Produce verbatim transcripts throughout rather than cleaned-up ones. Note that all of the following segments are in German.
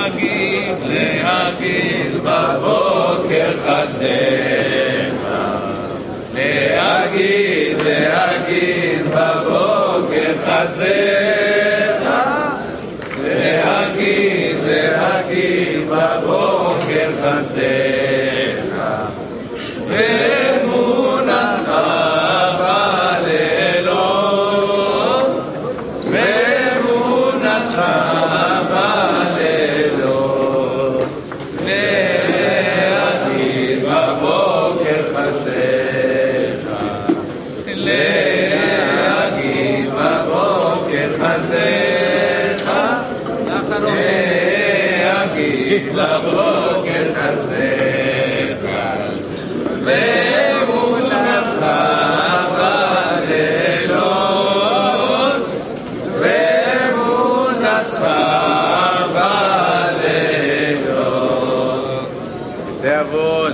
להגיד, להגיד בבוקר חסדך. להגיד, להגיד בבוקר חסדך. להגיד, להגיד בבוקר חסדך. באמונתך בלילות, באמונתך בלילות, להגיד בבוקר חסדך. להגיד בבוקר חסדך. להגיד בבוקר חסדך. באמונתך בלילות, באמונתך בלילות. תעבוד.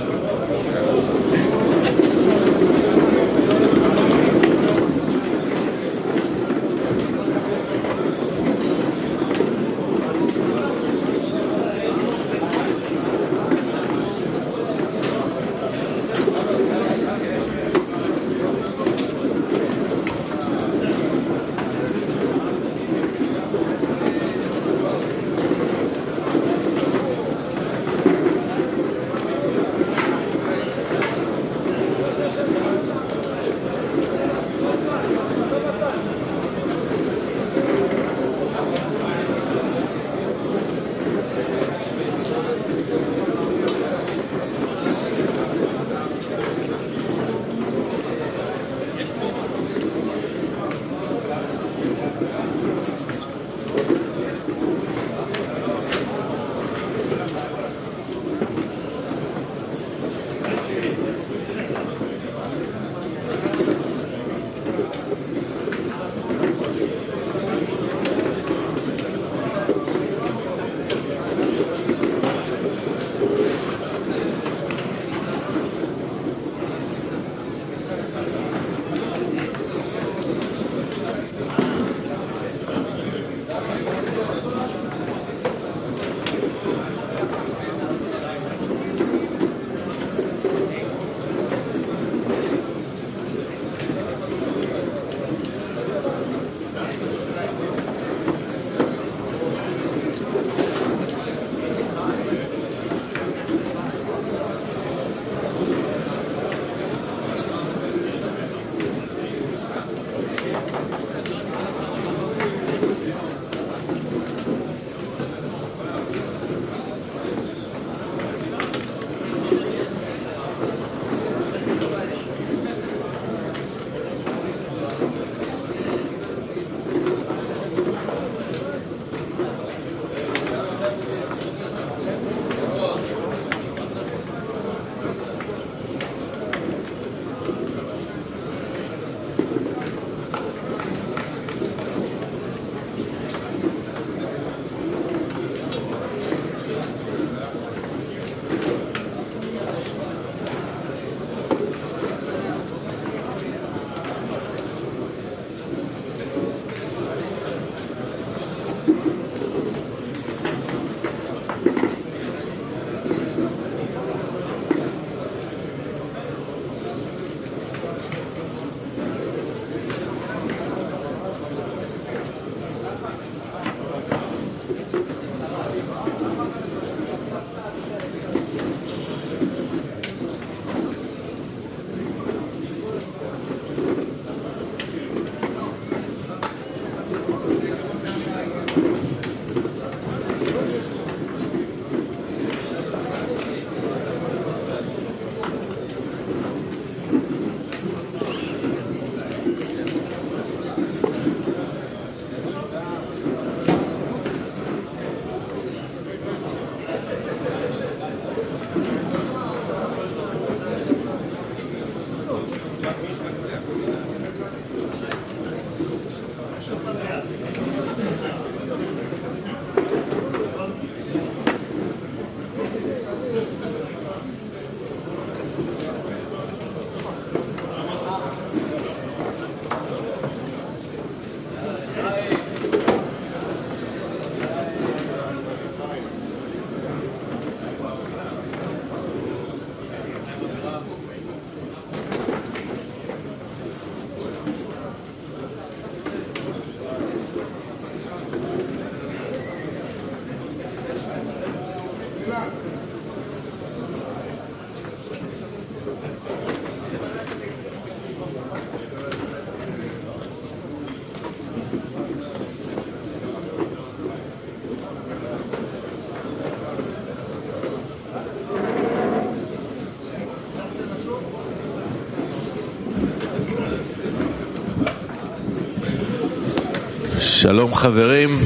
שלום חברים,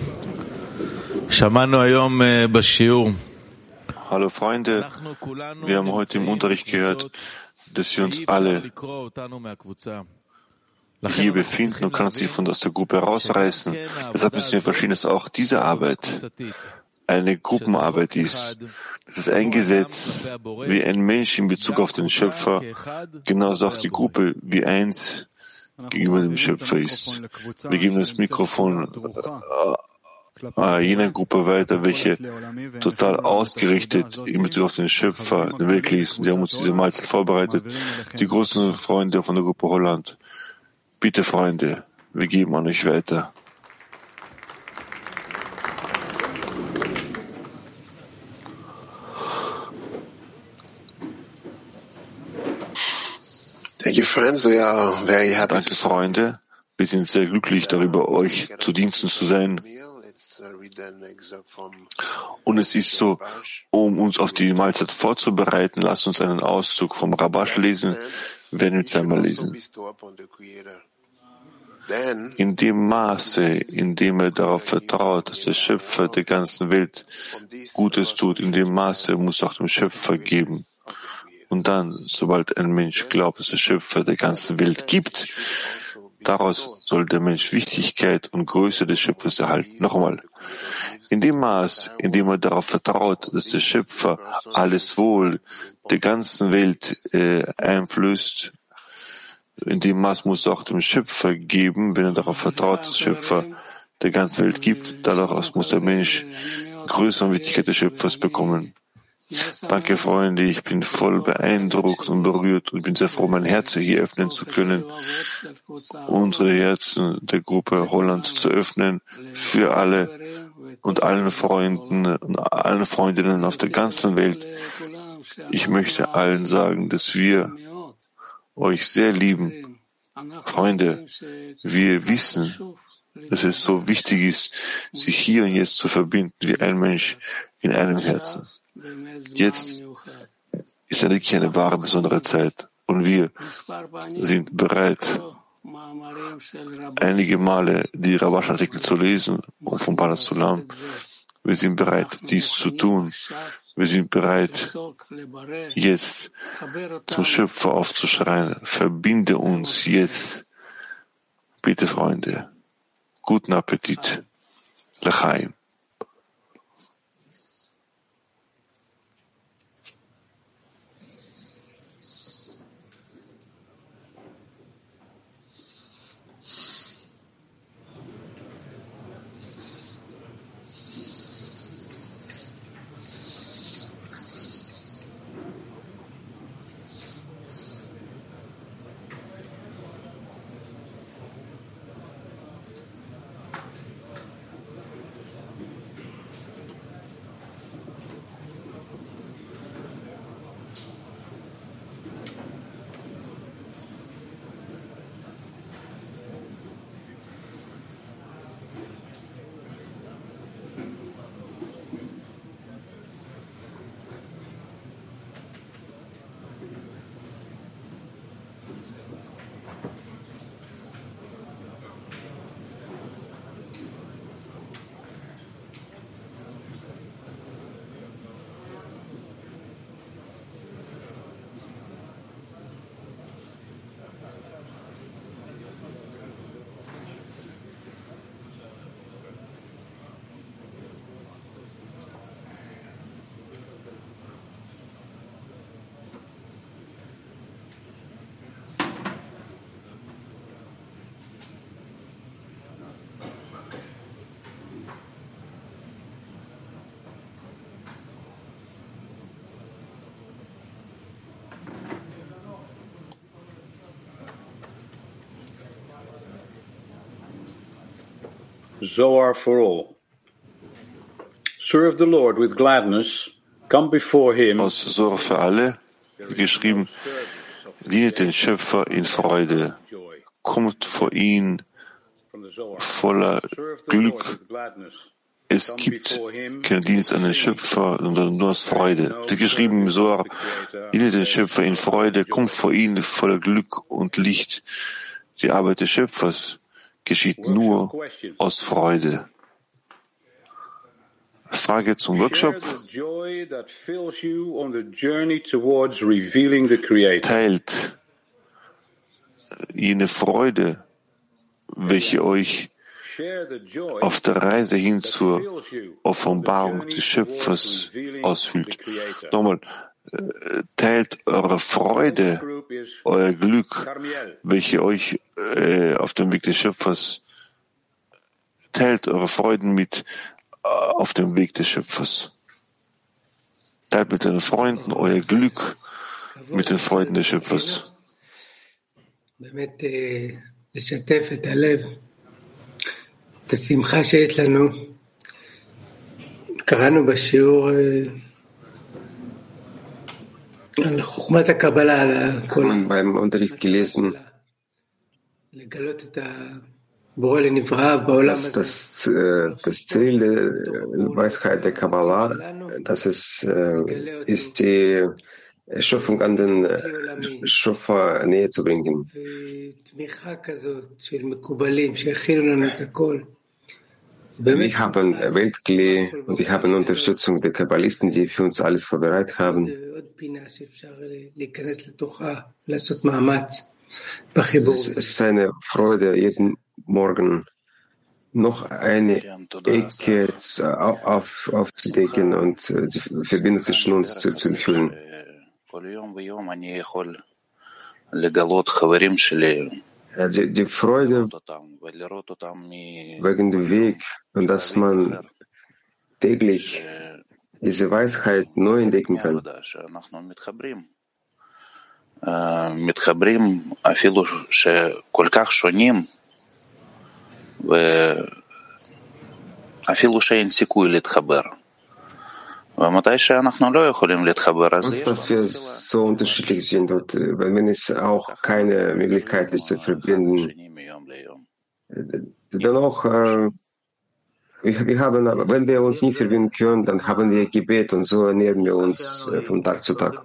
שמענו היום בשיעור. Hallo Freunde, wir haben heute im Unterricht gehört, dass wir uns alle hier befinden und können uns nicht von aus der Gruppe herausreißen. Deshalb müssen wir verstehen, dass auch diese Arbeit eine Gruppenarbeit ist. Das ist ein Gesetz, wie ein Mensch in Bezug auf den Schöpfer, genauso auch die Gruppe wie eins gegenüber dem Schöpfer ist. Wir geben das Mikrofon äh, jener Gruppe weiter, welche total ausgerichtet in Bezug auf den Schöpfer wirklich ist. Und die haben uns diese Mahlzeit vorbereitet. Die großen Freunde von der Gruppe Holland. Bitte, Freunde, wir geben an euch weiter. Danke, Freunde. Wir sind sehr glücklich darüber, euch zu Diensten zu sein. Und es ist so, um uns auf die Mahlzeit vorzubereiten, lasst uns einen Auszug vom Rabash lesen, werden wir jetzt einmal lesen. In dem Maße, in dem er darauf vertraut, dass der Schöpfer der ganzen Welt Gutes tut, in dem Maße muss auch dem Schöpfer geben. Und dann, sobald ein Mensch glaubt, dass der Schöpfer der ganzen Welt gibt, daraus soll der Mensch Wichtigkeit und Größe des Schöpfers erhalten. Noch einmal. In dem Maß, in dem er darauf vertraut, dass der Schöpfer alles Wohl der ganzen Welt äh, einflößt, in dem Maß muss er auch dem Schöpfer geben, wenn er darauf vertraut, dass der Schöpfer der ganzen Welt gibt. Daraus muss der Mensch Größe und Wichtigkeit des Schöpfers bekommen. Danke, Freunde, ich bin voll beeindruckt und berührt und bin sehr froh, mein Herz hier öffnen zu können, unsere Herzen der Gruppe Holland zu öffnen für alle und allen Freunden und allen Freundinnen auf der ganzen Welt. Ich möchte allen sagen, dass wir euch sehr lieben. Freunde, wir wissen, dass es so wichtig ist, sich hier und jetzt zu verbinden wie ein Mensch in einem Herzen. Jetzt ist wirklich eine wahre, besondere Zeit und wir sind bereit, einige Male die Rabash-Artikel zu lesen und vom Palas Sulam. Wir sind bereit, dies zu tun. Wir sind bereit, jetzt zum Schöpfer aufzuschreien. Verbinde uns jetzt. Bitte, Freunde. Guten Appetit. L'chaim. Zohar for all. Serve the Lord with gladness aus Sora für alle, geschrieben, dienet den Schöpfer in Freude, kommt vor ihn voller Glück. Es gibt keinen Dienst an den Schöpfer, sondern nur aus Freude. Es ist geschrieben im Zohar, dienet den Schöpfer in Freude, kommt vor ihn voller Glück und Licht. Die Arbeit des Schöpfers geschieht nur aus Freude. Frage zum Workshop. Teilt jene Freude, welche euch auf der Reise hin zur Offenbarung des Schöpfers ausfüllt. Nochmal, teilt eure Freude, euer Glück, welche euch äh, auf dem Weg des Schöpfers, teilt eure Freuden mit äh, auf dem Weg des Schöpfers. Teilt mit den Freunden euer Glück mit den Freuden des Schöpfers. את השמחה שיש לנו, קראנו בשיעור על חוכמת הקבלה, על כל... beim Unterricht gelesen, לגלות את הבורא לנברא בעולם dass הזה. das, äh, das Ziel der Weisheit der Kabbalah, dass es äh, ist, die Schöpfung an den Schöpfer näher zu bringen. ותמיכה כזאת של מקובלים שיכילו לנו את הכל. Wir haben Weltklee und wir haben Unterstützung der Kabbalisten, die für uns alles vorbereitet haben. Es ist eine Freude, jeden Morgen noch eine Ecke auf, aufzudecken und die Verbindung zwischen uns zu, zu fühlen. Die, die Freude wegen dem Weg und dass man täglich diese Weisheit neu entdecken kann. מתחברים אפילו שכל כך שונים ואפילו שאין סיכוי להתחבר. ומתי שאנחנו לא יכולים להתחבר, אז uns, dass wir so unterschiedlich sind und wenn es auch keine Möglichkeit ist zu verbinden, dennoch, äh, wir, wir haben, wenn wir uns nicht verbinden können, dann haben wir Gebet und so ernähren wir uns äh, von Tag zu Tag.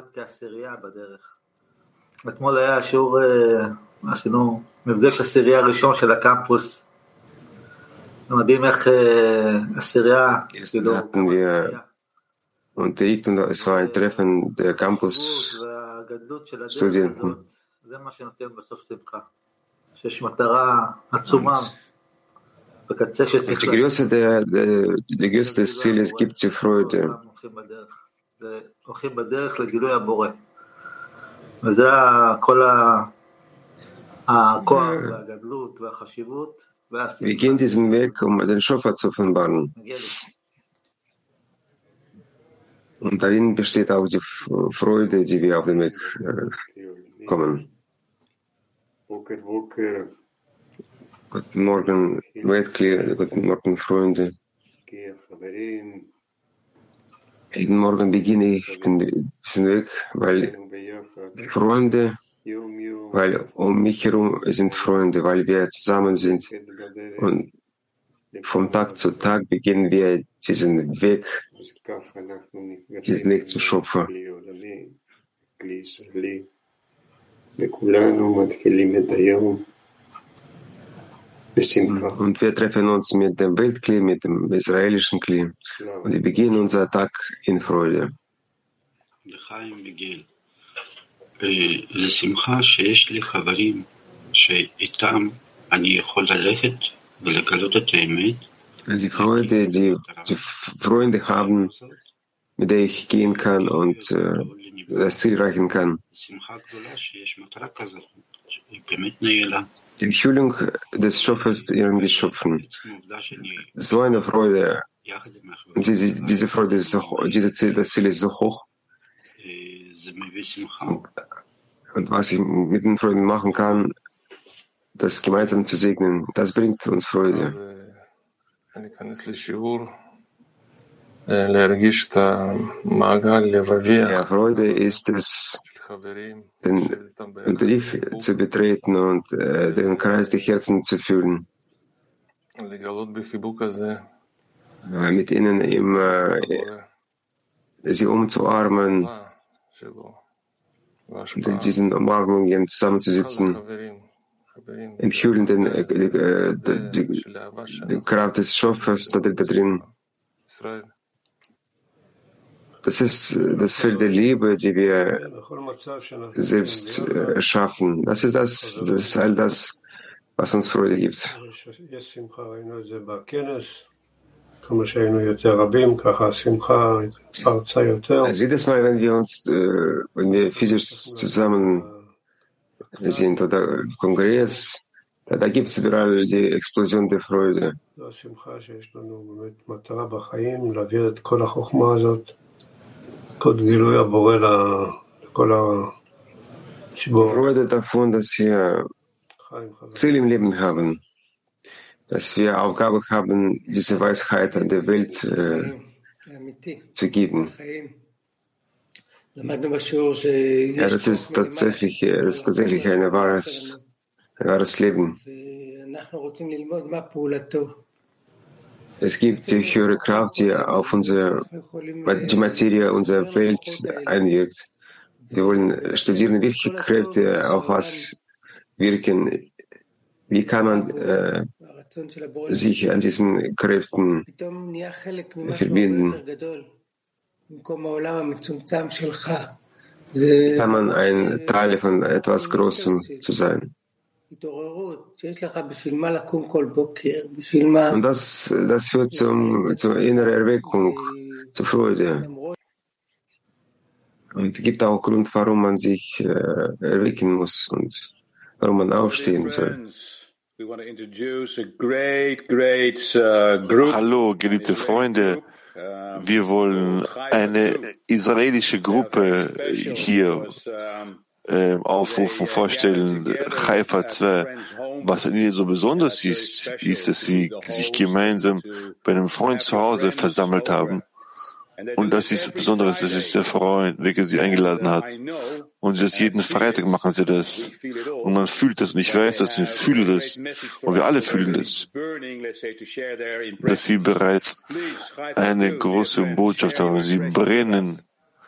אתמול היה שיעור, עשינו מפגש עשירייה הראשון של הקמפוס. מדהים איך עשירייה, כאילו, unterrichtet und es war ein Treffen der Campus-Studenten. זה מה שנותן בסוף שמחה. שיש מטרה עצומה בקצה שצריך... Die Größe der, der, die Größe des Zieles gibt die Freude. הולכים בדרך לגילוי הבורא. וזה כל הכוח והגדלות והחשיבות והשמחה. Wir gehen diesen Weg, um den Schöpfer zu offenbaren. Und darin besteht auch die Freude, die wir auf den Weg äh, kommen. Guten Morgen, Weltklee, guten Morgen, Freunde. Jeden Morgen beginne ich den, diesen Weg, weil Freunde, weil um mich herum sind Freunde, weil wir zusammen sind. Und vom Tag zu Tag beginnen wir diesen Weg, diesen Weg zum Schöpfer. Und wir treffen uns mit dem Weltklee, mit dem israelischen Klee. Und wir beginnen unseren Tag in Freude. Die Freude, die, die Freunde haben, mit der ich gehen kann und äh, das Ziel erreichen kann. Die Enthüllung des Schöpfers ihren Geschöpfen. So eine Freude. Und diese, diese Freude ist so, diese Ziel, das Ziel ist so hoch. Und, und was ich mit den Freunden machen kann, das gemeinsam zu segnen, das bringt uns Freude. Ja, Freude ist es, den, den Ich zu betreten und äh, den Kreis der Herzen zu fühlen. Äh, mit ihnen im, äh, sie umzuarmen, in diesen Umarmungen zusammenzusitzen, enthüllen den, äh, äh, die, die, die Kraft des Schöpfers da, da drin. Das ist das Feld der Liebe, die wir selbst äh, erschaffen. Das ist das, das ist all das, was uns Freude gibt. Jedes Mal, wenn wir uns, äh, wenn wir physisch zusammen sind oder im Kongress, da, da gibt es überall die Explosion der Freude. Freude davon, dass wir Ziel im Leben haben, dass wir Aufgabe haben, diese Weisheit an der Welt äh, zu geben. Ja, das ist tatsächlich, das ist tatsächlich ein wahres, ein wahres Leben. Es gibt die höhere Kraft, die auf unsere, die Materie unserer Welt einwirkt. Wir wollen studieren, welche Kräfte auf was wirken. Wie kann man äh, sich an diesen Kräften verbinden? Wie kann man ein Teil von etwas Großem zu sein? Und das, das führt zum, zur inneren Erweckung, zur Freude. Und gibt auch Grund, warum man sich äh, erwecken muss und warum man aufstehen soll. Hallo, geliebte Freunde. Wir wollen eine israelische Gruppe hier äh, aufrufen, vorstellen, Haifa zwei. Was an ihnen so besonders ist, ist, dass sie sich gemeinsam bei einem Freund zu Hause versammelt haben. Und das ist Besonderes, das ist der Freund, welcher sie eingeladen hat. Und das jeden Freitag machen sie das. Und man fühlt das, und ich weiß das, und ich fühle das, und wir alle fühlen das, dass sie bereits eine große Botschaft haben. Sie brennen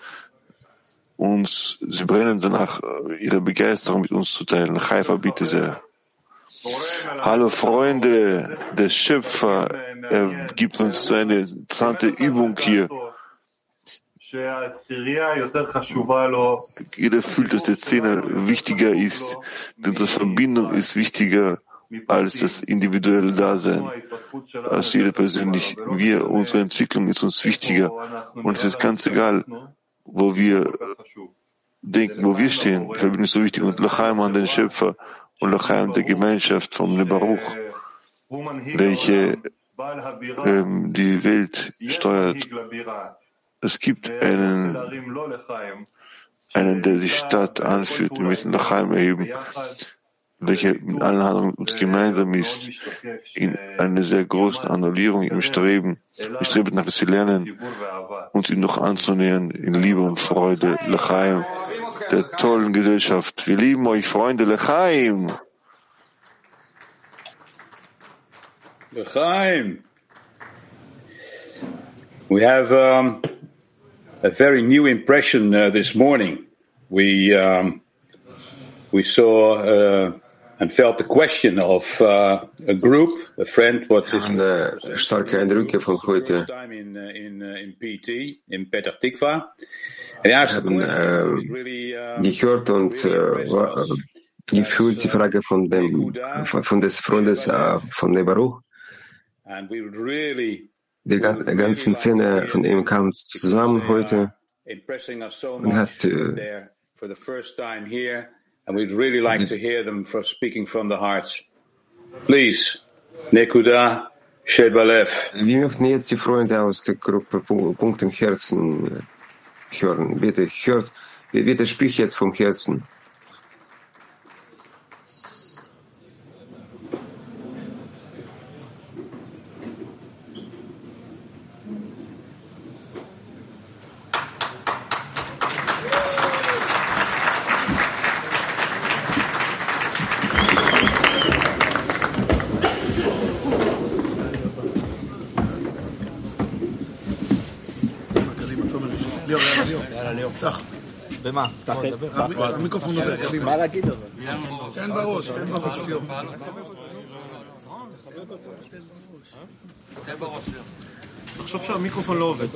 uns, sie brennen danach, ihre Begeisterung mit uns zu teilen. Haifa, bitte sehr. Hallo Freunde, der Schöpfer, er gibt uns eine interessante Übung hier. Jeder fühlt, dass der Zehner wichtiger ist, denn unsere Verbindung ist wichtiger als das individuelle Dasein. Als jeder persönlich. Wir, unsere Entwicklung ist uns wichtiger. Und es ist ganz egal, wo wir denken, wo wir stehen. Die Verbindung ist so wichtig. Und L'chaim an den Schöpfer und L'chaim der Gemeinschaft vom Nebaruch, welche ähm, die Welt steuert. Es gibt einen, einen, der die Stadt anführt, die mit dem L'chaim erheben, welcher in allen Handlungen mit uns gemeinsam ist, in einer sehr großen Annullierung im Streben, im Streben nach dass wir lernen, uns ihm noch anzunähern in Liebe und Freude, L'chaim, der tollen Gesellschaft. Wir lieben euch, Freunde, L'chaim. L'chaim. We have um, a very new impression uh, this morning. We um, we saw uh, and felt the question of uh, a group, a friend, what is Eine starke Eindrücke von heute. time in uh, in uh, in P T in Petah Tikva. And he asked the haben question, äh, really, uh, gehört und äh, war, äh, gefühlt die Frage von dem von, von des Freundes äh, von Nebaruch. and we would really Die ga- ganzen Szene von ihm kam zusammen heute impressing us so und hat much äh, there for the first time here, and we'd really like to hear them for speaking from the hearts. Please, Nekuda Shebalev. wir möchten jetzt die Freunde aus der Gruppe Pu- Punkt im Herzen äh, hören. Bitte hört, bitte sprich jetzt vom Herzen. במה? המיקרופון עובר, קדימה. מה להגיד אבל? תן בראש, תן בראש, ליאור. תחשוב שהמיקרופון לא עובד.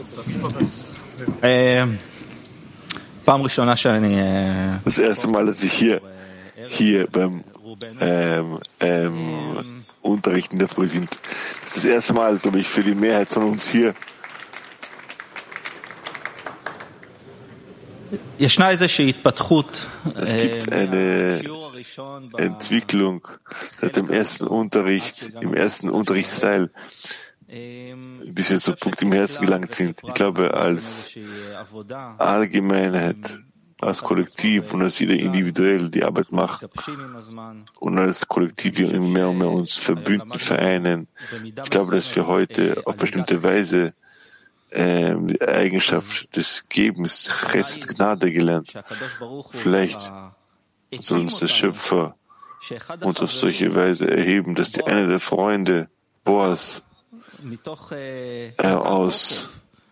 פעם ראשונה שאני... Das erste Mal, dass ich hier, hier beim ähm, ähm, Unterrichten der Früh sind. Das ist das erste Mal, glaube ich, für die Mehrheit von uns hier. Es gibt eine Entwicklung seit dem ersten Unterricht, im ersten Unterrichtsteil, bis wir zum Punkt im Herzen gelangt sind. Ich glaube, als Allgemeinheit, als Kollektiv und als jeder individuell die Arbeit macht und als Kollektiv wir immer mehr und mehr uns verbünden, vereinen. Ich glaube, dass wir heute auf bestimmte Weise äh, die Eigenschaft des Gebens, Chesed, Gnade gelernt. Vielleicht soll uns der Schöpfer uns auf solche Weise erheben, dass die eine der Freunde, Boas, äh, aus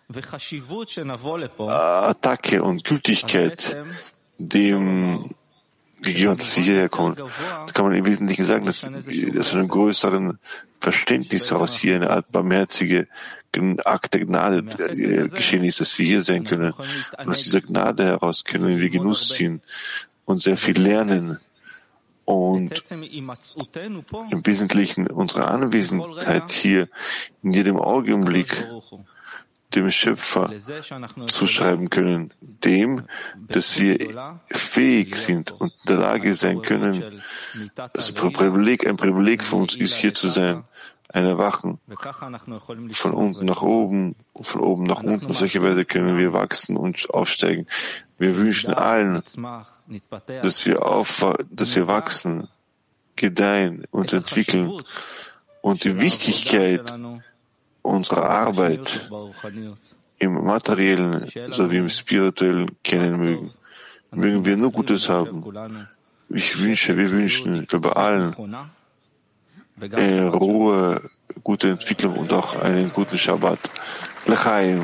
Attacke und Gültigkeit dem gegeben hat, dass wir hierher kommen. Da kann man im Wesentlichen sagen, dass, dass von einem größeren Verständnis heraus hier eine Art barmherzige Akt der Gnade geschehen ist, dass wir hier sein können. Und aus dieser Gnade heraus können wir Genuss ziehen und sehr viel lernen. Und im Wesentlichen unsere Anwesenheit hier in jedem Augenblick dem Schöpfer zuschreiben können, dem, dass wir fähig sind und in der Lage sein können, das Privileg, ein Privileg für uns ist, hier zu sein, ein Erwachen von unten nach oben, von oben nach unten. Auf solche Weise können wir wachsen und aufsteigen. Wir wünschen allen, dass wir, auf, dass wir wachsen, gedeihen und entwickeln und die Wichtigkeit unserer Arbeit im Materiellen sowie im Spirituellen kennen mögen. Mögen wir nur Gutes haben. Ich wünsche, wir wünschen bei allen äh, Ruhe, gute Entwicklung und auch einen guten Shabbat. L'chaim.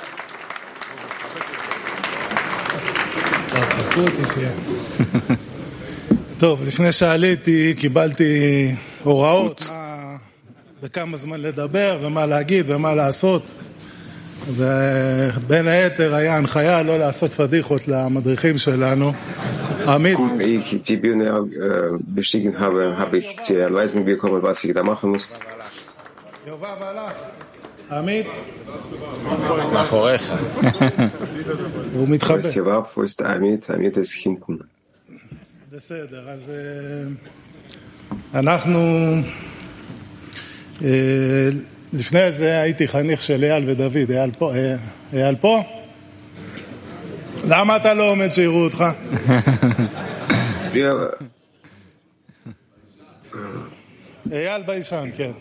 טוב, לפני שעליתי קיבלתי הוראות בכמה זמן לדבר ומה להגיד ומה לעשות, ובין היתר היה הנחיה לא לעשות פדיחות למדריכים שלנו. Wie ich die Bühne äh, bestiegen habe, habe ich zur Anweisung bekommen, was ich da machen muss. מאחוריך. הוא מתחבא. Jawab, wo ist der Amit? Amit ist hinten. בסדר, אז אנחנו לפני זה הייתי חניך של אייל ודוד. אייל פה? אייל פה? למה אתה לא עומד שיראו אותך? אייל בישן, כן.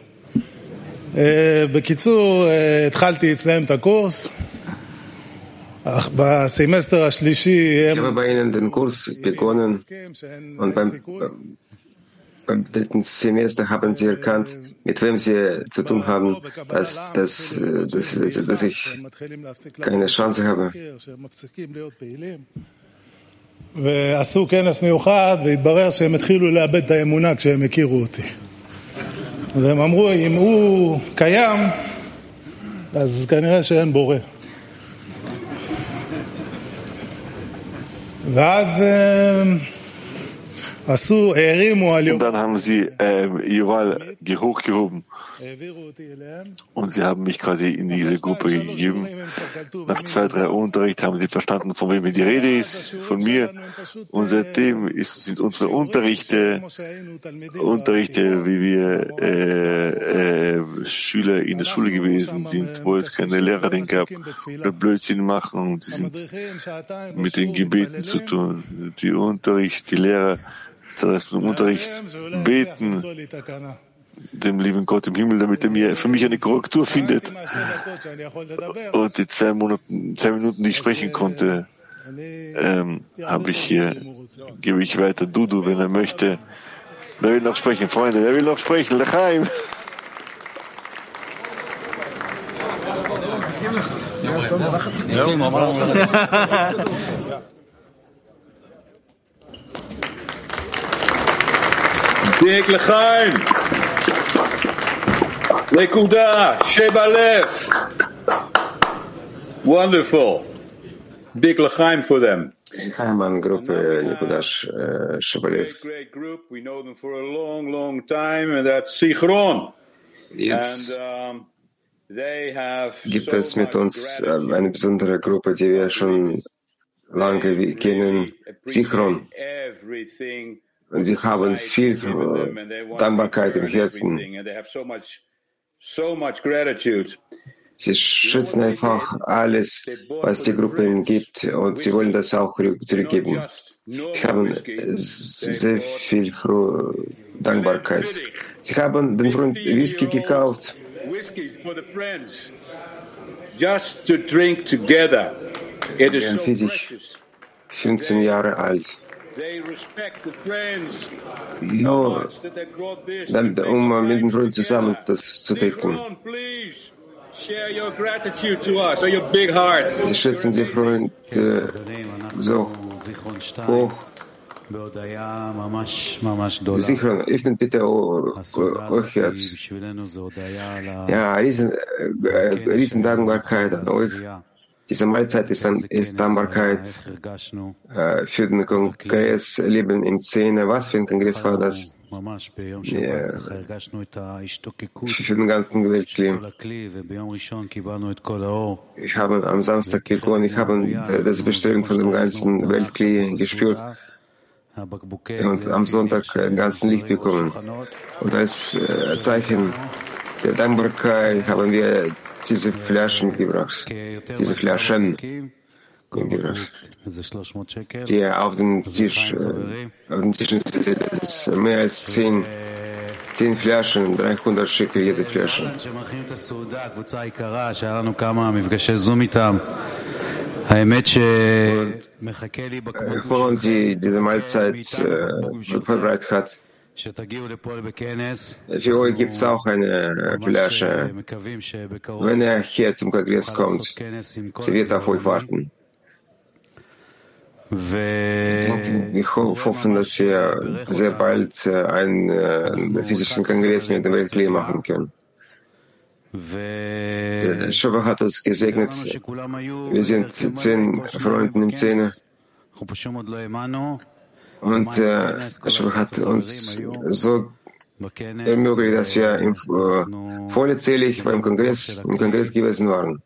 בקיצור, התחלתי אצלם את הקורס. בסמסטר השלישי Ich habe bei Ihnen den Kurs begonnen und beim, beim dritten Semester haben Sie erkannt, mit wem Sie zu tun haben, dass, dass, dass, dass ich keine Chance habe. ועשו כנס מיוחד והתברר שהם התחילו לאבד את האמונה כשהם הכירו אותי. והם אמרו, אם הוא קיים, אז כנראה שאין בורא. ואז עשו, הערימו על Und dann haben sie äh, Yuval hochgehoben und sie haben mich quasi in diese Gruppe gegeben. Nach zwei, drei Unterricht haben sie verstanden, von wem die Rede ist, von mir. Und seitdem ist, sind unsere Unterrichte, Unterrichte, wie wir äh, äh, Schüler in der Schule gewesen sind, wo es keine Lehrerin gab, oder Blödsinn machen. Und sie sind mit den Gebeten zu tun. Die Unterricht, die Lehrer, im Unterricht beten dem lieben Gott im Himmel, damit er mir für mich eine Korrektur findet. Und die zwei, Monate, zwei Minuten, die ich sprechen konnte, ähm, habe ich hier, gebe ich weiter Dudu, wenn er möchte. Wer will noch sprechen, Freunde? Wer will noch sprechen? L'chaim! Big L'chaim. Nekuda, Sheba Lev. Wonderful. Big L'chaim for them. Хайман группы Никуда Шебалев. Great group. We know them for a long, long time, and that's Zichron. Jetzt gibt es mit uns eine besondere Gruppe, die wir schon lange kennen, Zichron. Und sie haben viel Dankbarkeit im Herzen. Sie schützen einfach alles, was die Gruppe ihnen gibt, und sie wollen das auch zurückgeben. Sie haben sehr viel frohe Dankbarkeit. Sie haben den Freund Whisky gekauft. Just to drink together. It is so precious. fünfzehn Jahre alt. Nur dann, um mit dem Freund zusammen das zu trinken. Sie schätzen die Freunde so hoch. Sicher, öffnet bitte euch Herz. Ja, riesen, äh, riesen Dankbarkeit an euch. Diese Mahlzeit ist, dann, ist Dankbarkeit äh, für den Kongress Leben im Zehner. Was für ein Kongress war das? Ja, für den ganzen Weltkli. Ich habe am Samstag gekommen, ich habe das Bestellung von dem ganzen Weltkli gespürt. Und am Sonntag den ganzen Licht bekommen. Und als äh, Zeichen der Dankbarkeit haben wir diese Flaschen gebracht, diese Flaschen gebracht, die auf den Tisch, äh, auf den Tisch sind. Das ist mehr als zehn, zehn Flaschen, dreihundert Shekel jede Flasche. Und die diese Mahlzeit äh, vorbereitet hat. Für euch gibt es auch eine Flasche. Wenn er hier zum Kongress kommt, sie wird auf euch warten. Wir hoffen, dass wir sehr bald einen äh, physischen Kongress mit dem Weltkli machen können. Der Schöpfer hat uns gesegnet. Wir sind zehn Freunde im Zehner. Und äh, der Schöpfer hat uns so ermöglicht, dass wir im, äh, vollzählig beim Kongress, im Kongress gewesen waren.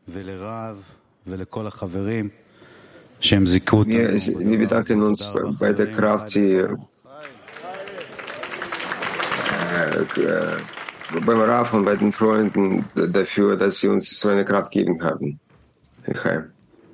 Wir, wir bedanken uns bei der Kraft, die äh, äh, beim Rav und bei den Freunden dafür, dass sie uns so eine Kraft gegeben haben. Herr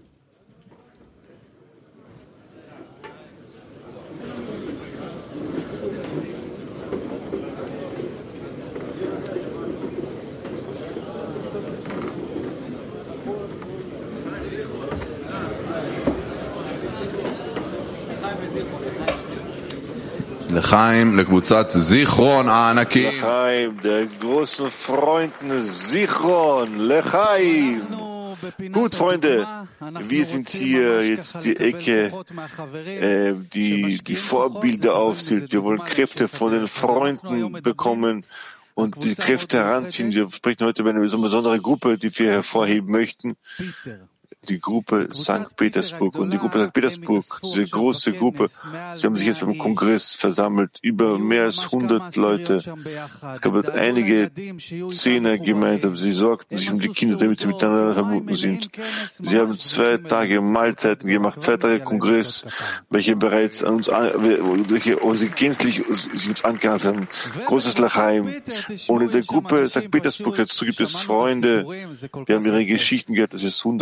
L'chaim, לקבוצת זיכרון הענקית. L'chaim, der großen Freunden Zichron, L'chaim. Gut, Freunde, wir sind hier jetzt die Ecke, äh, die die Vorbilder aufzählt. Wir wollen Kräfte von den Freunden bekommen und die Kräfte heranziehen. Wir sprechen heute über eine besondere Gruppe, die wir hervorheben möchten. Die Gruppe Sankt Petersburg. Und die Gruppe Sankt Petersburg, diese große Gruppe, sie haben sich jetzt beim Kongress versammelt, über mehr als hundert Leute. Es gab dort einige Zehner gemeinsam. Sie sorgten sich um die Kinder, damit sie miteinander verbunden sind. Sie haben zwei Tage Mahlzeiten gemacht, zwei Tage Kongress, welche bereits an uns, an, welche oh, sie gänzlich sie uns angehört haben. Großes L'chaim. Und in der Gruppe Sankt Petersburg dazu gibt es Freunde, wir haben ihre Geschichten gehört, das ist wunderschön.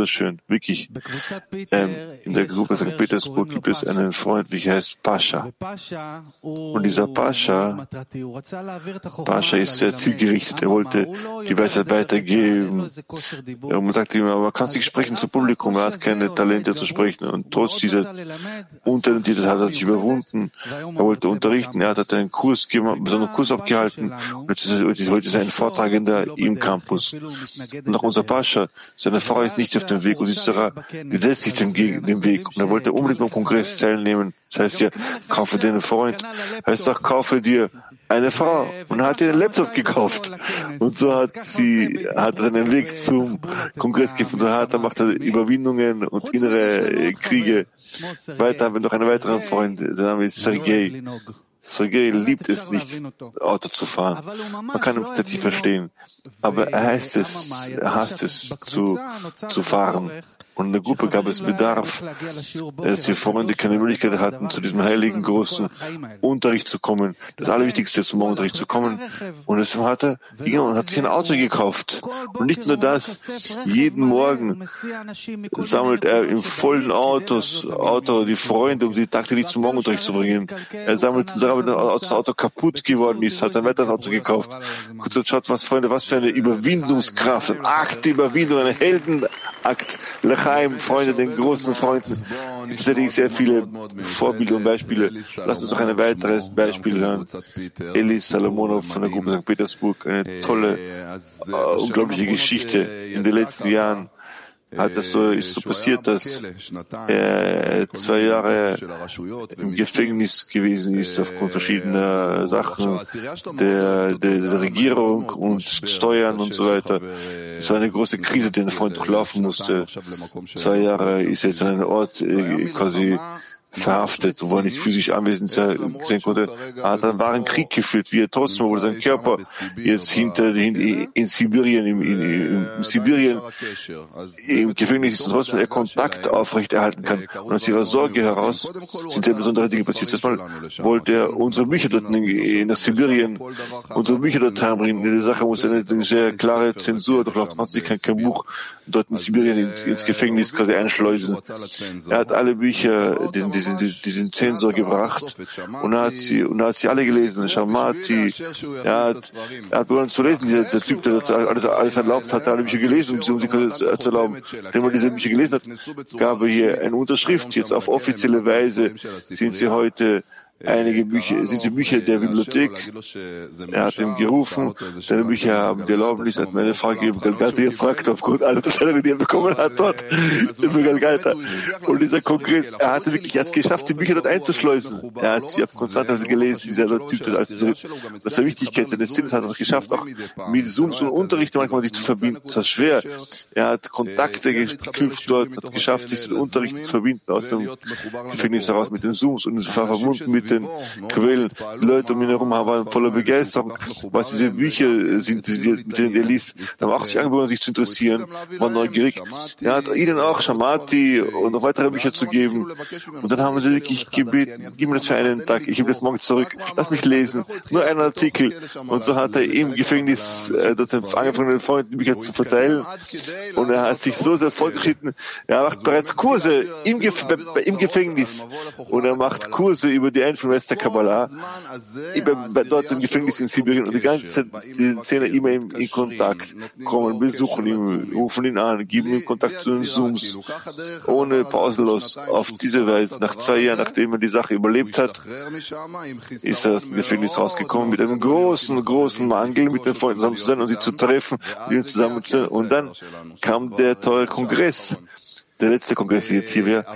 wirklich. Ähm, in der Gruppe Sankt Petersburg gibt es einen Freund, welcher heißt Pascha. Und dieser Pascha, Pascha ist sehr zielgerichtet. Er wollte die Weisheit weitergeben. Ja, man sagt ihm, aber man kann nicht sprechen zum Publikum, er hat keine Talente zu sprechen. Und trotz dieser Untalentiertheit hat er sich überwunden. Er wollte unterrichten, er hat einen Kurs, einen besonderen Kurs abgehalten. Und jetzt ist heute sein Vortragender im Campus. Und auch unser Pascha, seine Frau ist nicht auf dem Weg und Sarah setzt sich dem, dem Weg. Und er wollte unbedingt beim Kongress teilnehmen. Das heißt ja, kaufe dir einen Freund. Heißt auch, kaufe dir eine Frau. Und er hat ihr einen Laptop gekauft. Und so hat sie, hat seinen Weg zum Kongress gefunden. Da macht er Überwindungen und innere Kriege. Weiter haben wir noch einen weiteren Freund. Sein Name ist Sergei. Sergei liebt es nicht, Auto zu fahren. Man kann ihn tatsächlich verstehen. Aber er heißt es, er hasst es, zu, zu fahren. Und in der Gruppe gab es Bedarf, dass die Freunde keine Möglichkeit hatten, zu diesem heiligen, großen Unterricht zu kommen. Das Allerwichtigste, zum Morgenunterricht zu kommen. Und deshalb hat er, und hat sich ein Auto gekauft. Und nicht nur das, jeden Morgen sammelt er im vollen Autos, Auto, die Freunde, um sie tagtäglich zum Morgenunterricht zu bringen. Er sammelt, wenn das Auto kaputt geworden ist, hat er ein weiteres Auto gekauft. Kurz schaut, was, Freunde, was für eine Überwindungskraft, ein Akt der Überwindung, ein Heldenakt. L'chaim, Freunde, den großen Freunden. Tatsächlich sehr viele Vorbilder und Beispiele. Lasst uns noch ein weiteres Beispiel hören. Eli Salomonov von der Gruppe Sankt Petersburg. Eine tolle, äh, unglaubliche Geschichte in den letzten Jahren. Hat das so, ist so passiert, dass er zwei Jahre im Gefängnis gewesen ist aufgrund verschiedener Sachen der, der, der Regierung und Steuern und so weiter. Es war eine große Krise, die der Freund durchlaufen musste. Zwei Jahre ist er jetzt an einem Ort äh, quasi verhaftet, wo er nicht physisch anwesend sein konnte. Er hat einen wahren Krieg geführt, wie er trotzdem, obwohl sein Körper jetzt hinter, in, in Sibirien, in, in, in Sibirien, im Gefängnis ist und trotzdem er Kontakt aufrechterhalten kann. Und aus ihrer Sorge heraus sind sehr besondere Dinge passiert. Erstmal wollte er unsere Bücher dort in, nach Sibirien, unsere Bücher dort heimbringen. In der Sache muss eine, eine sehr klare Zensur durchlaufen. Man kann kein Buch dort in Sibirien ins, ins Gefängnis quasi einschleusen. Er hat alle Bücher, diesen, diesen diesen Zensor gebracht und er hat sie, und er hat sie alle gelesen. Shamati, er hat, er hat begonnen zu lesen, dieser, dieser Typ, der alles, alles erlaubt hat, alle Bücher gelesen, um sie um zu erlauben. Wenn man diese Bücher gelesen hat, gab er hier eine Unterschrift. Jetzt auf offizielle Weise sind sie heute einige Bücher, sind die Bücher der Bibliothek. Er hat ihm gerufen, seine Bücher haben die Erlaubnis, hat mir eine Frage gegeben, Galgata gefragt, aufgrund aller Unterstellungen, die er bekommen hat dort, über Galgata. Und dieser Kongress, er hatte wirklich, er hat es geschafft, die Bücher dort einzuschleusen. Er hat sie auf Konstanz gelesen, dieser Typ, das aus der Wichtigkeit seines Sinnes hat er es geschafft, auch mit Zooms und Unterricht manchmal sich zu verbinden. Das war schwer. Er hat Kontakte geknüpft dort, hat geschafft, sich zu den Unterrichten zu verbinden, aus dem Gefängnis heraus mit den Zooms und war verbunden mit den Quellen. Die Leute um ihn herum waren voller Begeisterung, was diese Bücher sind, mit denen er liest. Dann haben auch sich angeboten, sich zu interessieren, waren neugierig. Er hat ihnen auch Shamati und noch weitere Bücher zu geben. Und dann haben sie wirklich gebeten, gib mir das für einen Tag, ich gebe das morgen zurück, lass mich lesen, nur einen Artikel. Und so hat er im Gefängnis äh, das angefangen, den Freunden die Bücher zu verteilen. Und er hat sich so sehr fortgeschritten, er macht bereits Kurse im, Gef im Gefängnis. Und er macht Kurse über die von Wester Kabbalah, dort im Gefängnis in Sibirien und die ganze Zeit die Szene immer in, in Kontakt kommen, besuchen ihn, rufen ihn an, geben ihm Kontakt zu den Zooms, ohne pausenlos. Auf diese Weise, nach zwei Jahren, nachdem er die Sache überlebt hat, ist er aus dem Gefängnis rausgekommen mit einem großen, großen Mangel, mit den Freunden zusammen zu sein und sie zu treffen, mit ihnen zusammen zu sein. Und dann kam der teure Kongress, der letzte Kongress jetzt hier wäre.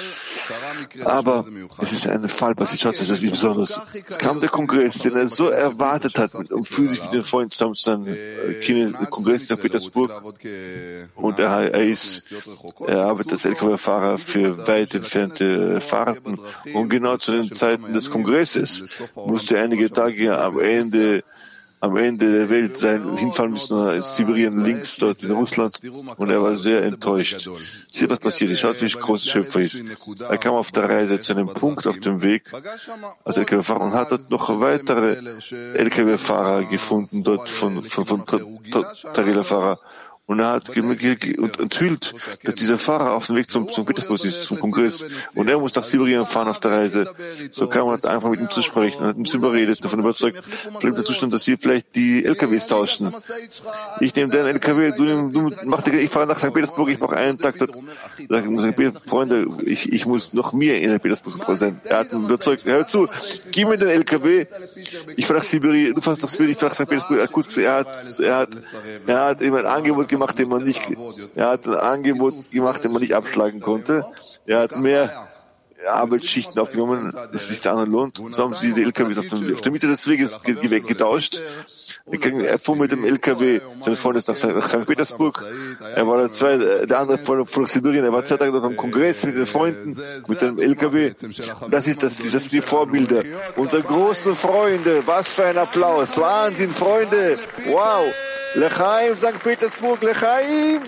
Aber es ist ein Fall passiert, schaut sich das wie besonders. Es kam der Kongress, den er so erwartet hat, um physisch mit den Freunden zusammen zu sein, der Kongress in Sankt Petersburg. Und er, er ist, er arbeitet als L K W-Fahrer für weit entfernte Fahrten. Und genau zu den Zeiten des Kongresses musste er einige Tage am Ende am Ende der Welt sein, hinfallen müssen nach Sibirien, links dort in Russland, und er war sehr enttäuscht. Sieht, was passiert ist, schaut, wie groß der Schöpfer ist. Er kam auf der Reise zu einem Punkt auf dem Weg als L K W-Fahrer und hat dort noch weitere L K W-Fahrer gefunden, dort von, von, von Trailerfahrer. Und er hat und enthüllt, dass dieser Fahrer auf dem Weg zum, zum Petersburg ist, zum Kongress. Und er muss nach Sibirien fahren auf der Reise. So kam man einfach mit ihm zu sprechen und hat mit ihm überredet, davon überzeugt, vielleicht der Zustand, dass sie vielleicht die L K Ws tauschen. Ich nehme deinen L K W, du, nimm, du mach die, ich fahre nach Sankt Petersburg, ich mache einen Tag dort. Freunde, ich, ich muss noch mehr in Sankt Petersburg präsent. Er hat ihn überzeugt, hör zu, gib mir den L K W, ich fahre nach Sibirien, du fährst nach Sibirien, ich fahre nach Sankt Petersburg. Er hat, er hat, er hat ihm ein Angebot gemacht, gemacht, den man nicht, er hat ein Angebot gemacht, den man nicht abschlagen konnte. Er hat mehr Arbeitsschichten aufgenommen, dass sich der andere lohnt. Und so haben sie die L K Ws auf, dem, auf der Mitte des Weges weggetauscht. Er fuhr mit dem L K W, sein Freund ist nach Sankt Petersburg. Er war der, zwei, der andere von, von Sibirien. Er war zwei Tage noch am Kongress mit den Freunden, mit seinem L K W. Und das ist das, das sind die Vorbilder. Unsere großen Freunde. Was für ein Applaus. Wahnsinn, Freunde. Wow. L'chaim, Sankt Petersburg, L'chaim!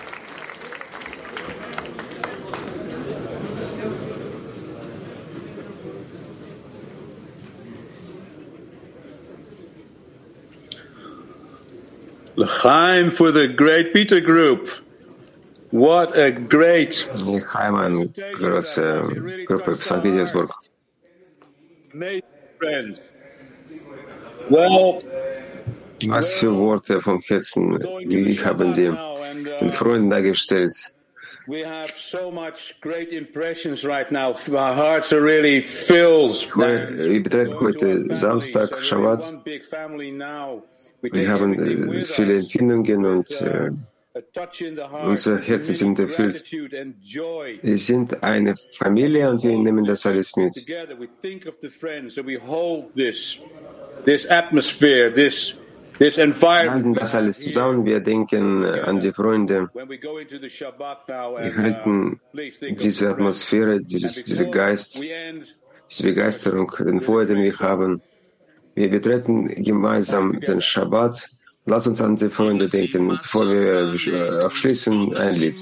L'chaim for the great Peter Group. What a great... L'chaim an große Gruppe Sankt Petersburg. Amazing friends. Well... Was für Worte vom Herzen, wie haben die den Freunden dargestellt. We have so much great impressions right now. Our hearts are really filled. Wir betreffen heute Samstag, Shabbat. Wir haben viele Empfindungen und äh, unsere Herzen sind erfüllt. Wir sind eine Familie und wir nehmen das alles mit. Wir halten das alles zusammen, wir denken an die Freunde. Wir halten diese Atmosphäre, dieses, diese Geist, diese Begeisterung, den Feuer, den wir haben. Wir betreten gemeinsam den Schabbat. Lass uns an die Freunde denken, bevor wir äh, abschließen, ein Lied.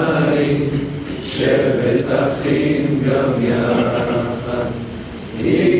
שבט אחים גם יחד